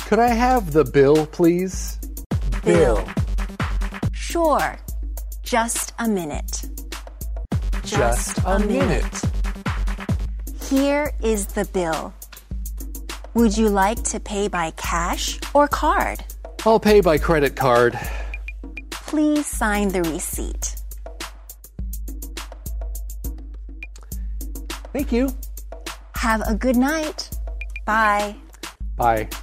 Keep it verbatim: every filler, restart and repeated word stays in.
Could I have the bill, please? Bill. Sure. Just a minute. Just a minute. Here is the bill. Would you like to pay by cash or card? I'll pay by credit card. Please sign the receipt. Thank you. Have a good night. Bye. Bye.